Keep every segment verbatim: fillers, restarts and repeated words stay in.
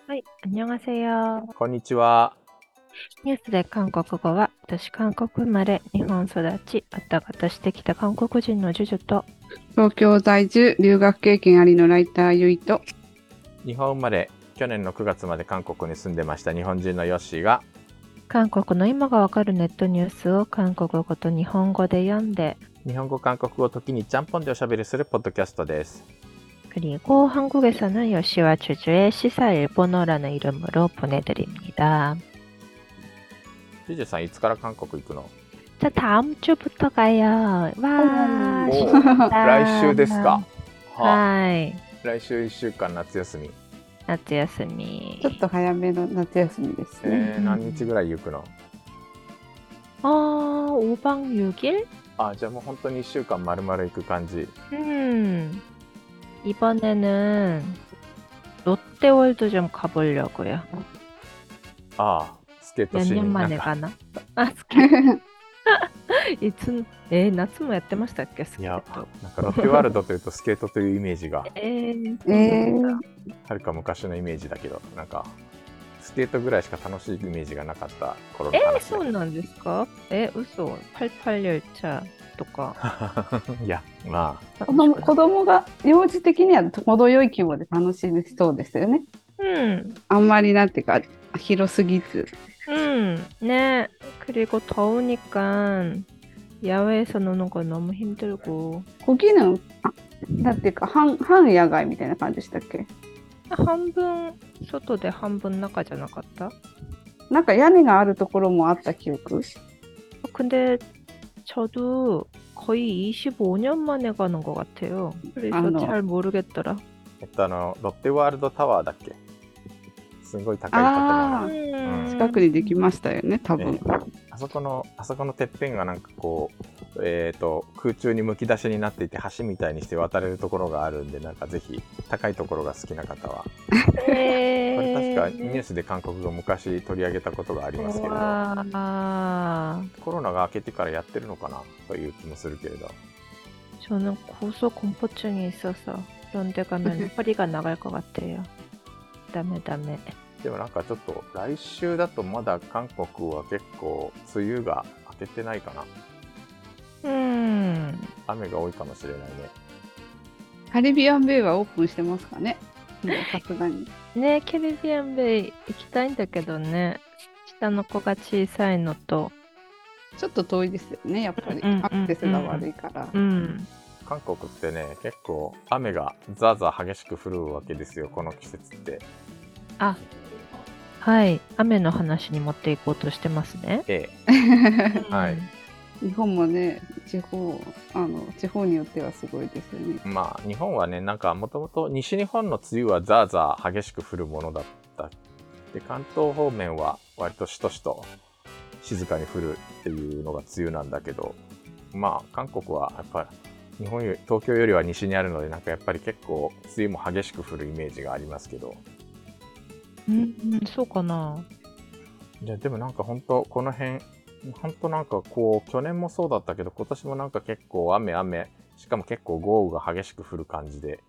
はい、안녕하세요。 こんにちは。 ニュースで韓国語は、私韓国生まれ、日本育ち、あたがたしてきた韓国人のジュジュと、 東京在住、留学経験ありのライターゆいと、 日本生まれ、去年のくがつまで韓国に住んでました日本人のヨッシーが、 韓国の今がわかるネットニュースを韓国語と日本語で読んで、 日本語韓国語を時にちゃんぽんでおしゃべりするポッドキャストです。 그리고 한국에서는 요시와 주주의 시사 일본어라는 이름으로 보내드립니다. ジュジュさんいつから韓国行くの？ 자, 다음 주부터 가요. 와, お 진짜. 来週ですか。はあ、 はい。 来週いっしゅうかん夏休み。 夏休み。 ちょっと早めの夏休みですね。 えー、何日ぐらい行くの？ 어, 오 박 육 일? あ、じゃあもう本当にいっしゅうかん丸々行く感じ。 음, 이번에는 롯데월드 좀 가보려고요. ああ、スケート 몇 し 년 になん 만에 か 가나? 아, 스케이트. 이 춘, 에, 夏もやってましたっけ、スいや、 ケート。 なんかロッテワールドというとスケートというイメージがえー、 えー、 はるか昔のイメージだけど、なんかスケートぐらいしか楽しいイメージがなかった頃のえー、 話そうなんですか？え、嘘。はちじゅうはち열차とか。 いや、まあ子供子供が幼児的には程よい規模で楽しめそうですよね。 음, あんまりなんていうか広すぎず。 음, 네. 그리고 더우니까 야외에서 노는 거 너무 힘들고. 거기는あなんていうか半半野外みたいな感じでしたっけ？ 한분外で半分中じゃなかった？ なんか屋根があるところもあった記憶。 근데 저도 거의 이십오 년 만에 가는 것 같아요. 그래서 아, 너. 잘 모르겠더라. えっとあのロッテワールドタワーだっけ？すごい高い建あ物。 음, 近くにできましたよね、多分。 えーあそこのあそこのてっぺんがなんかこう、えー、と空中にむき出しになっていて橋みたいにして渡れるところがあるんで、なんかぜひ高いところが好きな方は、これ確かニュースで韓国語昔取り上げたことがありますけれど、 와, コロナが明けてからやってるのかなという気もするけれど、 저는 고소공포증이 있어서 그런 데 가면 허리가 나갈 것 같아요. 다음에 다음에. でもなんかちょっと来週だとまだ韓国は結構梅雨が明けてないかな。 음, 雨が多いかもしれないね。 カリビアンベイはオープンしてますかね？もうさすがに。 네, 캐리비안 베이行きたいんだけどね。下の子が小さいのと、 ちょっと遠いですよね、やっぱり。 うんうんうんアクセスが悪いから。 うん。 韓国ってね、結構雨がザーザー激しく降るわけですよ、この季節って。 あ、はい。雨の話に持っていこうとしてますね。 ええ、はい。 日本もね、地方、あの、地方によってはすごいですよね。 まあ日本はね、なんかもともと西日本の梅雨はザーザー激しく降るものだった。で、関東方面は割としとしと静かに降るっていうのが梅雨なんだけど、まあ韓国はやっぱり日本より東京よりは西にあるので、なんかやっぱり結構梅雨も激しく降るイメージがありますけど、 うん、うんそうかな。 いやでもなんか本当この辺本当なんかこう去年もそうだったけど、今年もなんか結構雨雨、しかも結構豪雨が激しく降る感じで。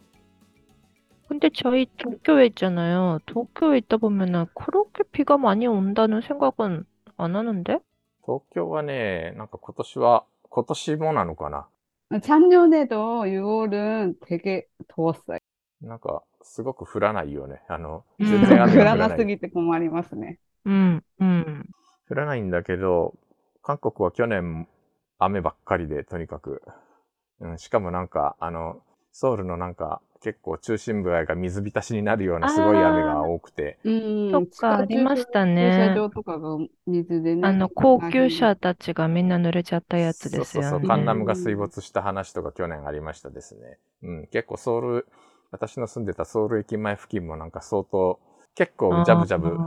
근데 저희 도쿄에 있잖아요. 도쿄에 있다 보면은 그렇게 비가 많이 온다는 생각은 안 하는데? 東京はね、なんか今年は今年もなのかな、 작년에도 유월은 되게 더웠어요. なんかすごく降らないよね。あのうん全然雨降らが降らな。 ないすぎて困りますね。 うん、うん。 降らないんだけど、韓国は去年雨ばっかりで、とにかく、うん、しかもなんかあのソウルのなんか結構中心部が水浸しになるようなすごい雨が多くて、 うん、 そっか、ありましたね。 駐車場とかが水でね。 あの、高級車たちがみんな濡れちゃったやつですよね。 そうそうそう、カンナムが水没した話とか去年ありましたですね。うん、結構ソウル、私の住んでたソウル駅前付近もなんか相当、結構ジャブジャブ、うん、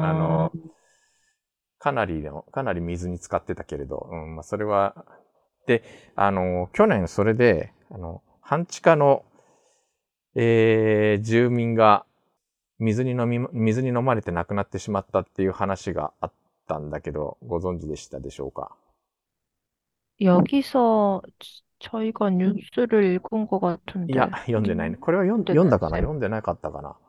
あの、かなりの、かなり水に浸かってたけれど、うん、まあそれは、で、あの、去年それで、あの、半地下の、えー、住民が水に飲み、水に飲まれて亡くなってしまったっていう話があったんだけど、ご存知でしたでしょうか？ 여기서 저희가 뉴스를 읽은 것 いや、 같은데. 読んでないね。これは読ん読んだかな読んでなかったかな。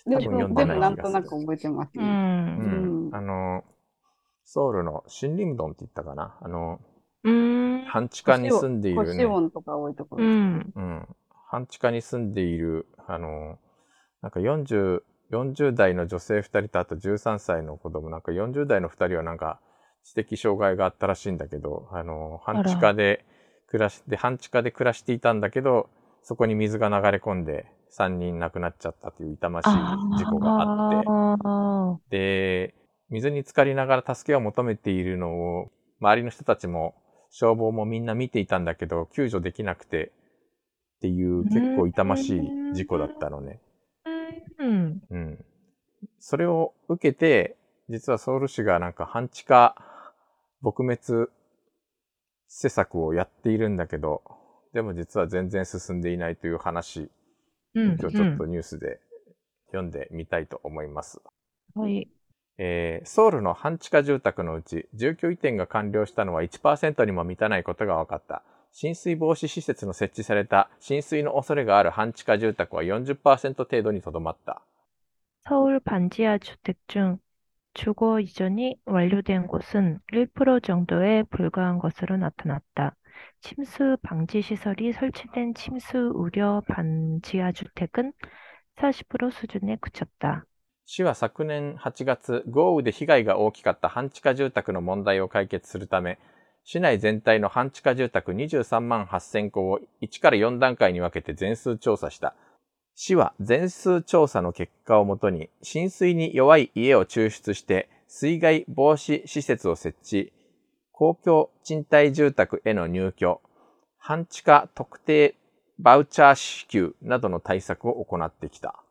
で多分読んででもない気がする。 なんとなく覚えてますう。 ね。 うんうん。 あの、ソウルの新林洞って言ったかな。あの、 うーん。 半地下に腰を、 住んでいる腰ね、 音とか多いところですかね。 うん。 うん、半地下に住んでいる、あの、なんかよんじゅう、よんじゅう代の女性ふたりとあとじゅうさんさいの子供、なんかよんじゅう代のふたりはなんか知的障害があったらしいんだけど、あの、半地下あら。 で暮らして、半地下で暮らしていたんだけど、そこに水が流れ込んでさんにん亡くなっちゃったという痛ましい事故があって、 ああ。 で、水に浸かりながら助けを求めているのを、周りの人たちも消防もみんな見ていたんだけど、救助できなくてっていうう結構痛まーしい事故だっん。 たのね。 うん。 うん。それを受けて、実はソウル市がなんか半地下撲滅施策をやっているんだけど、でも実は全然進んでいないという話をうん。 今日ちょっとニュースで読んでみたいと思います。 はい。 えーソウルの半地下住宅のうち住居移転が完了したのは いちパーセント にも満たないことが分かった。浸水防止施設の設置された浸水の恐れがある半地下住宅は よんじゅっパーセント 程度にとどまった。 서울 반지하 주택 중 주거 이전이 완료된 곳은 일 퍼센트 정도에 불과한 것으로 나타났다. 침수 방지 시설이 설치된 침수 우려 반지하 주택은 사십 퍼센트 수준에 그쳤다. 市は昨年はちがつ、豪雨で被害が大きかった半地下住宅の問題を解決するため、市内全体の半地下住宅にじゅうさんまんはっせんこをいちからよん段階に分けて全数調査した。市は全数調査の結果をもとに、浸水に弱い家を抽出して水害防止施設を設置、公共賃貸住宅への入居、半地下特定バウチャー支給などの対策を行ってきた。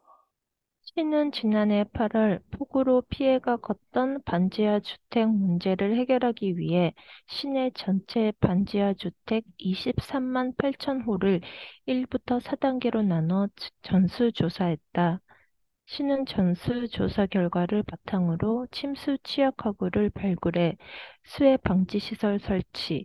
시는 지난해 팔월 폭우로 피해가 컸던 반지하 주택 문제를 해결하기 위해 시내 전체 반지하 주택 이십삼만 팔천 호를 일부터 사 단계로 나눠 전수조사했다. 시는 전수조사 결과를 바탕으로 침수 취약가구를 발굴해 수해 방지 시설 설치,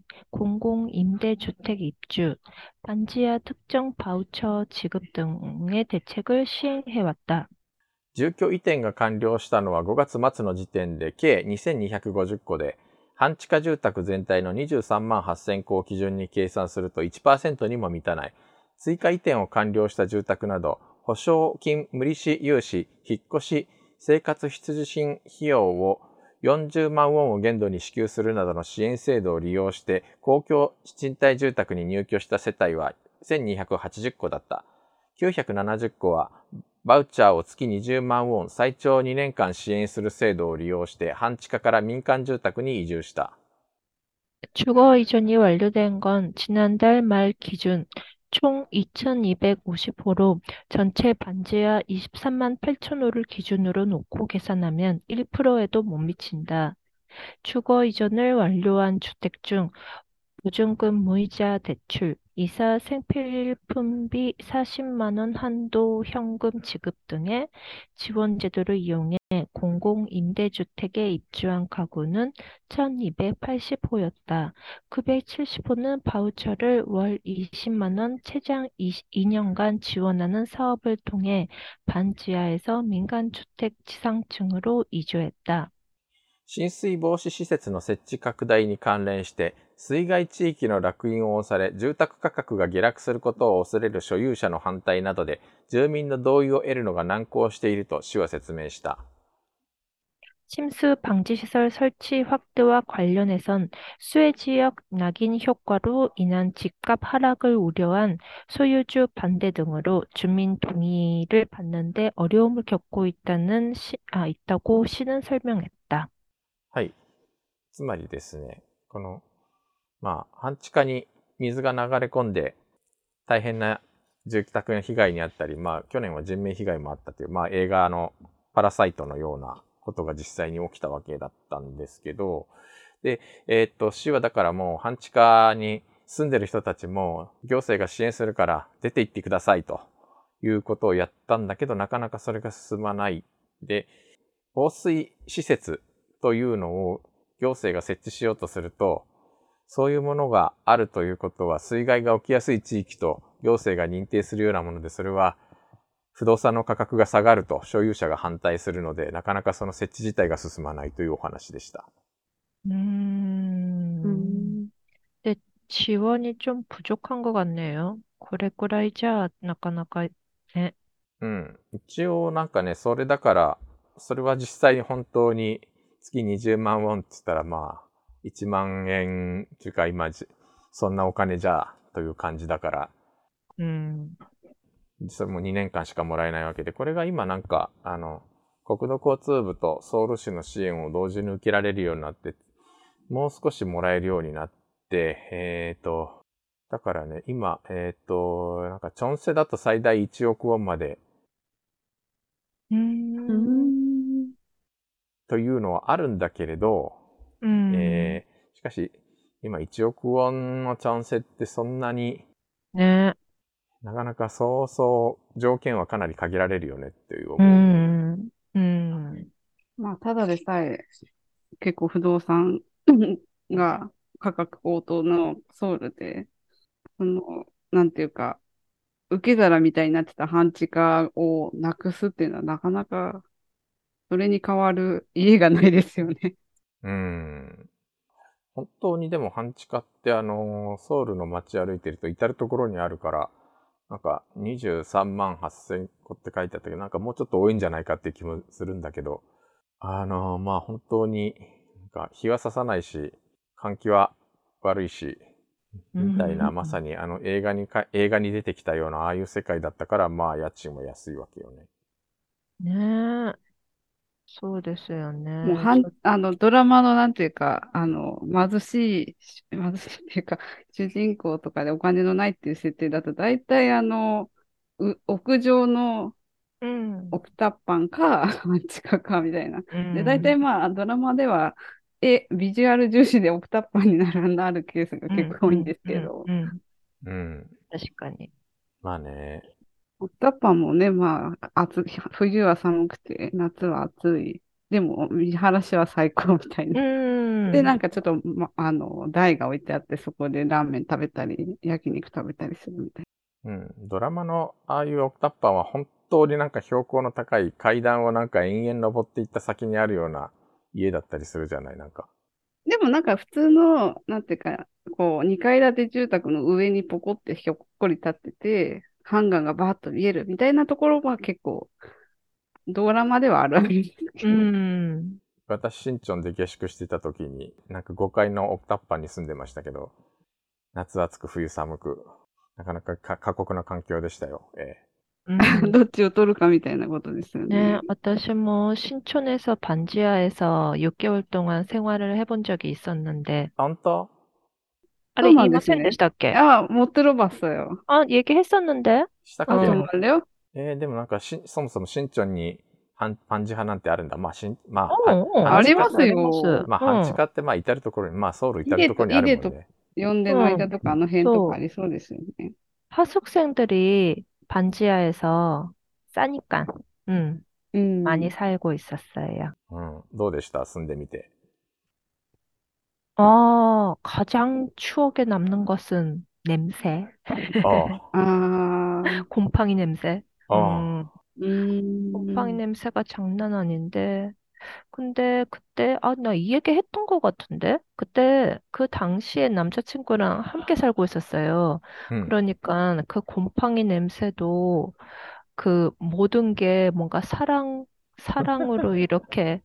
공공임대주택 입주, 반지하 특정 바우처 지급 등의 대책을 시행해왔다. 住居移転が完了したのはごがつ末の時点で計にせんにひゃくごじゅっこで、半地下住宅全体のにじゅうさんまんはっせんこを基準に計算すると いちパーセント にも満たない。追加移転を完了した住宅など、保証金無利子融資、引っ越し、生活必需品費用をよんじゅうまんウォンを限度に支給するなどの支援制度を利用して公共賃貸住宅に入居した世帯はせんにひゃくはちじゅっこだった。きゅうひゃくななじゅっこはバウチャーを月にじゅうまんウォン最長にねんかん支援する制度を利用して半地下から民間住宅に移住した。 주거 이전이 완료된 건 지난달 말 기준 총 이천이백오십 호로 전체 반지하 이십삼만 팔천 호를 기준으로 놓고 계산하면 일 퍼센트에도 못 미친다. 주거 이전을 완료한 주택 중 보증금 무이자 대출, 이사 생필품비 사십만 원 한도 현금 지급 등의 지원 제도를 이용해 공공임대주택에 입주한 가구는 천이백팔십 호였다. 구백칠십 호는 바우처를 월 이십만 원 최장 이 년간 지원하는 사업을 통해 반지하에서 민간주택 지상층으로 이주했다. 浸水防止施設の設置拡大に関連して水害地域の烙印を押され住宅価格が下落することを恐れる所有者の反対などで住民の同意を得るのが難航していると市は説明した。 침수 방지 시설 설치 확대와 관련해선 수해 지역 낙인 효과로 인한 집값 하락을 우려한 소유주 반대 등으로 주민 동의를 받는 데 어려움을 겪고 있다는 시, 아, 있다고 시는 설명했다. はい。つまりですね、この、まあ、半地下に水が流れ込んで大変な住宅の被害にあったり、まあ、去年は人命被害もあったという、まあ、映画のパラサイトのようなことが実際に起きたわけだったんですけど、で、えーっと、市はだからもう半地下に住んでる人たちも行政が支援するから出て行ってくださいということをやったんだけど、なかなかそれが進まない。で、防水施設というのを行政が設置しようとすると、そういうものがあるということは水害が起きやすい地域と行政が認定するようなもので、それは不動産の価格が下がると所有者が反対するので、なかなかその設置自体が進まないというお話でした。 음, 음. 근데 지원이 좀 부족한 것 같네요.これくらいじゃ、なかなかね。 うん。一応なんかね、それだから、それは実際に本当に月にじゅうまんウォンって言ったらまあ、いちまん円っていうか今じ、そんなお金じゃという感じだから、 음, それもにねんかんしかもらえないわけで、これが今なんか、あの、国土交通部とソウル市の支援を同時に受けられるようになって、もう少しもらえるようになって、えっと、だからね、今、えっと、なんかチョンセだと最大いちおくウォンまで 음, 음. というのはあるんだけれど、 음, えーしかし、今いちおくウォンのチャンスってそんなに、 네, なかなかそうそう条件はかなり限られるよねっていう思う。 음, 음, まあ、ただでさえ結構不動産が価格高騰のソウルで、その、なんていうか、受け皿みたいになってた半地下をなくすっていうのはなかなかそれに代わる家がないですよね。 うん。本当にでも半地下ってあの、ソウルの街歩いてると至るところにあるから、なんかにじゅうさんまんはっせんこって書いてあったけど、なんかもうちょっと多いんじゃないかっていう気もするんだけど、あの、まあ本当に、なんか日は差さないし、換気は悪いし、みたいな、まさ 음, にあの映画にか、映画に出てきたようなああいう世界だったから、まあ家賃も安いわけよね。 네, そうですよね。 もうはん、 ちょっと、 あの、ドラマのなんていうか、あの、貧しい、貧しいっていうか、主人公とかでお金のないっていう設定だと、大体あの、う屋上の 음, オクタッパンか、半地下かみたいな。で、大 음, 体まあ、ドラマでは、え、ビジュアル重視でオクタッパンになる、なるケースが結 음, 構多いんで 음, すけ 음, ど、 음, うん。 確かに。 まあね。 オクタッパンもね、まあ、暑い、冬は寒くて、夏は暑い。でも、見晴らしは最高みたいな。で、な 음, んかちょっと、ま、あの、台が置いてあって、そこでラーメン食べたり、焼肉食べたりするみたいうん。ドラマのああいうオクタッパーは本当になんか標高の高い階段をなんか延々登っていった先にあるような家だったりするじゃない、なんか。 な。でもなんか普通の、なんていうか、こう、にかい建て住宅の上にポコってひょっこり立ってて、ハンガーがバーッと見えるみたいなところは結構、ドラマではあるんですけど。 음, 私、新庄で下宿していた時に、なんかごかいのオクタッパーに住んでましたけど、夏暑く冬寒く、なかなかか過酷な環境でしたよ。え 음. どっちを取るかみたいなことですよ 네, ね。 私も 신촌에서 반지하에서 육 개월 동안 생활을 해본 적이 있었는데, 本当 아래 そうなんですね。 이마센でしたっけ? 아, 못 들어봤어요. 아, 얘기했었는데? したっ 아, け？ 어, 정말요? えー、でもなんかし、そもそも新庄に半パンジ派なんてあるんだ。まあ、しん、まあ、パン、 어, 어, 半地下、 あります 아리마스, よ。 まあ、半地 어, 下ってまあ、至るところに、まあ、ソウル至イデと、 るところにあイデとるもんね。 呼んでる 어, 間とか、あの辺とかあ 또, りそうですよね。 하숙생들이 반지하에서 싸니까, 음, う 많이 ん。 살고 있었어요. うん。どうでした住んでみて。 어, 가장 추억에 남는 것은 냄새, あああ、 곰팡이 냄새. あ、あ 음, うー 곰팡이 ん。 냄새가 장난 아닌데, 근데 그때, 아, 나 이 얘기 했던 것 같은데? 그때 그 당시에 남자친구랑 함께 살고 있었어요. あ、うん。 그러니까 그 곰팡이 냄새도 그 모든 게 뭔가 사랑, 사랑으로 이렇게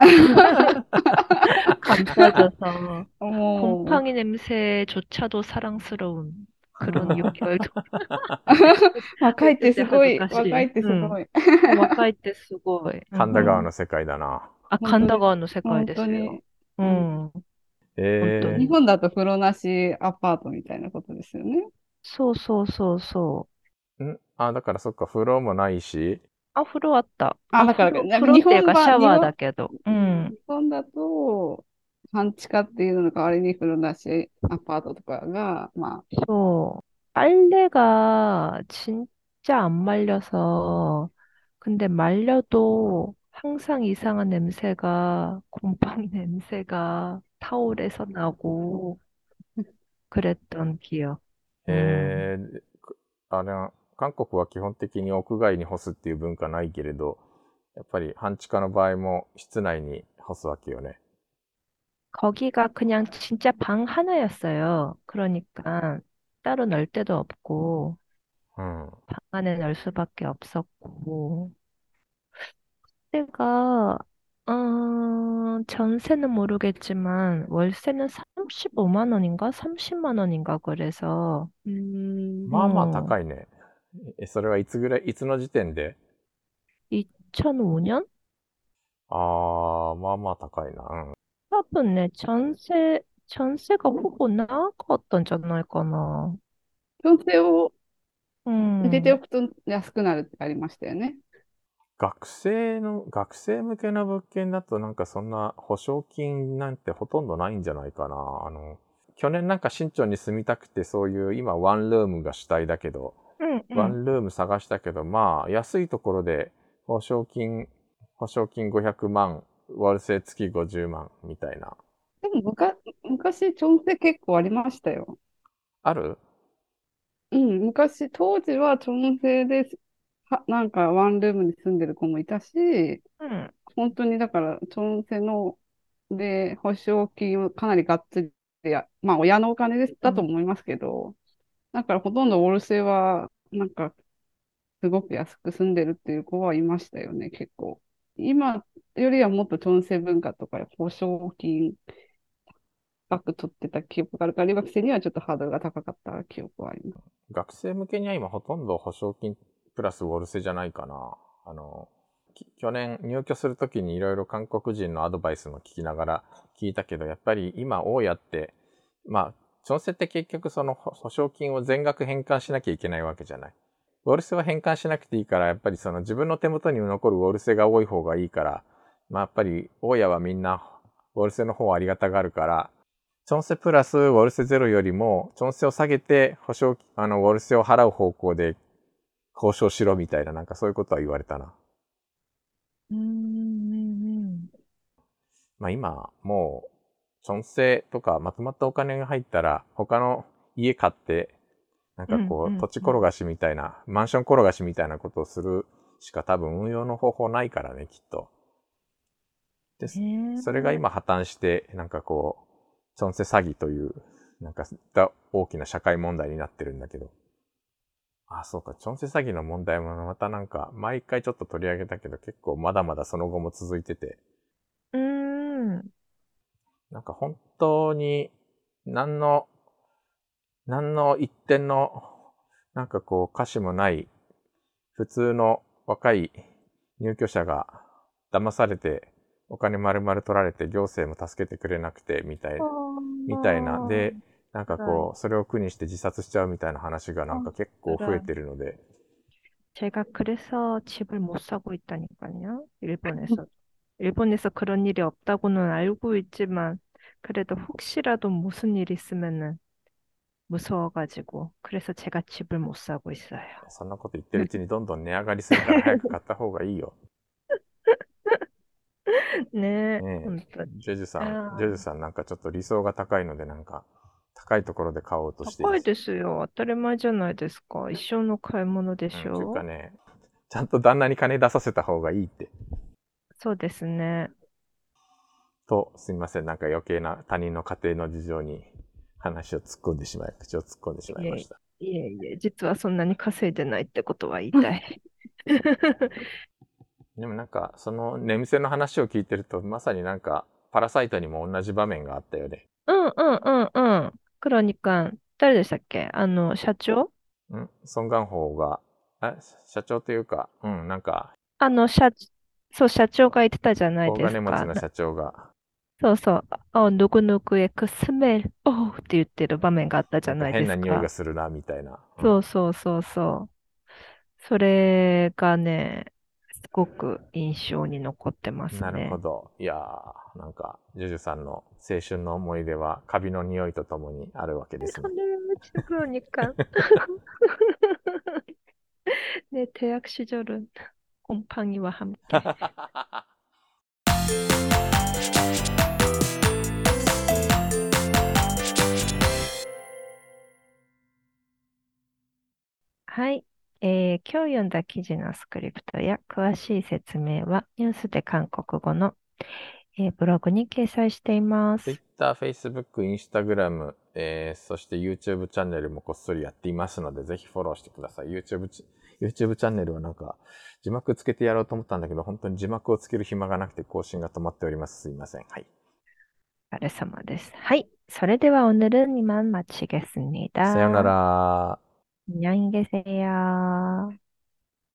감싸져서 おー。 곰팡이 냄새조차도 사랑스러운 그런 육 개월 동안 若いっ 했을 て 때 すごい。 恥ずかしい。 若いってす 응. ごい。 若いってすごい。う神田川ん。 の世界だな。 あ、 本当です。 神田川の世界本ですよ。 当に。 ううん、 ん。本当ええ日に。 本だと風呂なしアパートみたいなことですよね。 そうそうそうそう。 ー。んあ、だからそっか、風呂もないし、 あ、風呂あった。 あ、 あ、 だから、 風呂、 なんか風呂っていう日本版、 かシャワー日本、 だけど。ううん、 ん。 日本だと、半地下っていうのの代わりに風呂なしアパートとかが、まあ、 そう。빨래가 진짜 안 말려서, 근데 말려도 항상 이상한 냄새가, 곰팡이 냄새가 타올에서 나고, 그랬던 기억. 음. えー、くあれは、 韓国は基本的に屋外に干すっていう文化ないけれど、やっぱり半地下の場合も室内に干すわけよね。 거기가 그냥 진짜 방 하나였어요. 그러니까 따로 널 데도 없고, うん。 방 안에 널 수밖에 없었고, 때가, 어, 전세는 모르겠지만, 월세는 삼십오만 원인가? 삼십만 원인가? 그래서, うーん。 まあまあ 어, 高いね。え、それはいつぐらい、いつの時点で？ 이천오 년? ああ、まあまあ高いな。うん。 多分ね、 전세, 전세가 후보 나갔던 지 않을까나. 調整を入れてお 음, くと安くなるってありましたよね。 学生の、学生向けの物件だとなんかそんな保証金なんてほとんどないんじゃないかな。あの、去年なんか新町に住みたくてそういう今ワンルームが主体だけど、 응, ワ 응. ンルーム探したけど、まあ安いところで保証金、保証金ごひゃくまん、ワルセ月ごじゅうまんみたいな。 でもむか昔、調整結構ありましたよ。 ある？ うん、昔、当時は調整で、は、なんかワンルームに住んでる子もいたし、 응. 本当にだから、調整の、で、保証金をかなりがっつりや、まあ親のお金ですだと 응. 思いますけど、だからほとんどオルセは、なんか、すごく安く住んでるっていう子はいましたよね、結構。今よりはもっと調整文化とか保証金高く取ってた記憶があるから、留学生にはちょっとハードルが高かった記憶はあります。 学生向けには今ほとんど保証金プラスウォルセじゃないかな。あの、去年入居するときにいろいろ韓国人のアドバイスも聞きながら聞いたけど、やっぱり今大家って、まあ、調整って結局その保証金を全額返還しなきゃいけないわけじゃない。ウォルセは返還しなくていいから、やっぱりその自分の手元に残るウォルセが多い方がいいから、まあやっぱり大家はみんなウォルセの方をありがたがるから、チョンセプラスウォルセゼロよりも、チョンセを下げて保証、あの、ウォルセを払う方向で交渉しろみたいな、なんかそういうことは言われたな。 음, 음, まあ今、もう、チョンセとかまとまったお金が入ったら、他の家買って、なんか 음, こう、 음, 土地転がしみたいな、マンション転がしみたいなことをするしか多分運用の方法ないからね、きっと。で、 음. それが今破綻して、なんかこう、チョンセ詐欺という、なんか大きな社会問題になってるんだけど。あ、そうか、チョンセ詐欺の問題もまたなんか、毎回ちょっと取り上げたけど、結構まだまだその後も続いてて。 음, なんか本当に、何の、何の一点の、なんかこう、歌詞もない、普通の若い入居者が騙されて、お金丸々取られて行政も助けてくれなくてみたいみたいなで、なんかこうそれを苦にして自殺しちゃうみたいな話がなんか結構増えてるので、 제가 그래서 집을 못 사고 있다니까요. 일본에서. 일본에서 그런 일이 없다고는 알고 있지만, 그래도 혹시라도 무슨 일 있으면은 무서워가지고, 그래서 제가 집을 못 사고 있어요. そんなこと言ってるうちにどんどん値上がりするから早く買った方がいいよ。 ね、 ね本当え、 に。 ジョジュさん、 あジョジュさんなんかちょっと理想が高いのでなんか高いところで買おうとしてい高います。 ですよ。当たり前じゃないですか。一生の買い物でうん、というかしょね、ちゃんと旦那に金出させた方がいいって。 そうですね。 と、すみません、なんか余計な他人の家庭の事情に話を突っ込んでしまい、口を突っ込んでしまいいえました。 いえいえ、実はそんなに稼いでないってことは言いたい。 でもなんか、その寝店の話を聞いてると、まさになんか、パラサイトにも同じ場面があったよね。 うんうんうんうん。クロニカ、誰でしたっけあの、社長んソン・ガンホーが、あ、社長というか、うん、なんか、 あの、社、そう、社長が言ってたじゃない大ですか。な金持ちの社長が、 そうそう。あ、ぬぐぬぐえくスメル、おうって言ってる場面があったじなんかゃないで変な匂いがすか。 するな、みたいな。うん、 そうそうそうそう。それがね、すごく印象に残ってますなるほね。 ど。いやー、なんか、ジュジュさんの青春の思い出は、カビの匂いとともにあるわけですね。 오늘 그러니까 내 대학 시절은 곰팡이와 함께. はい。 えー今日読んだ記事のスクリプトや詳しい説明はニュースで韓国語の、えーブログに掲載しています。 Twitter、Facebook、Instagram、えー、そして YouTube チャンネルもこっそりやっていますので、ぜひフォローしてください。YouTube チ、YouTube チャンネルはなんか、字幕つけてやろうと思ったんだけど、本当に字幕をつける暇がなくて更新が止まっております。すいません。はい。 お疲れ様です。はい。それでは오늘은 이만 さよな 마치겠습니다. ら。 안녕히 계세요.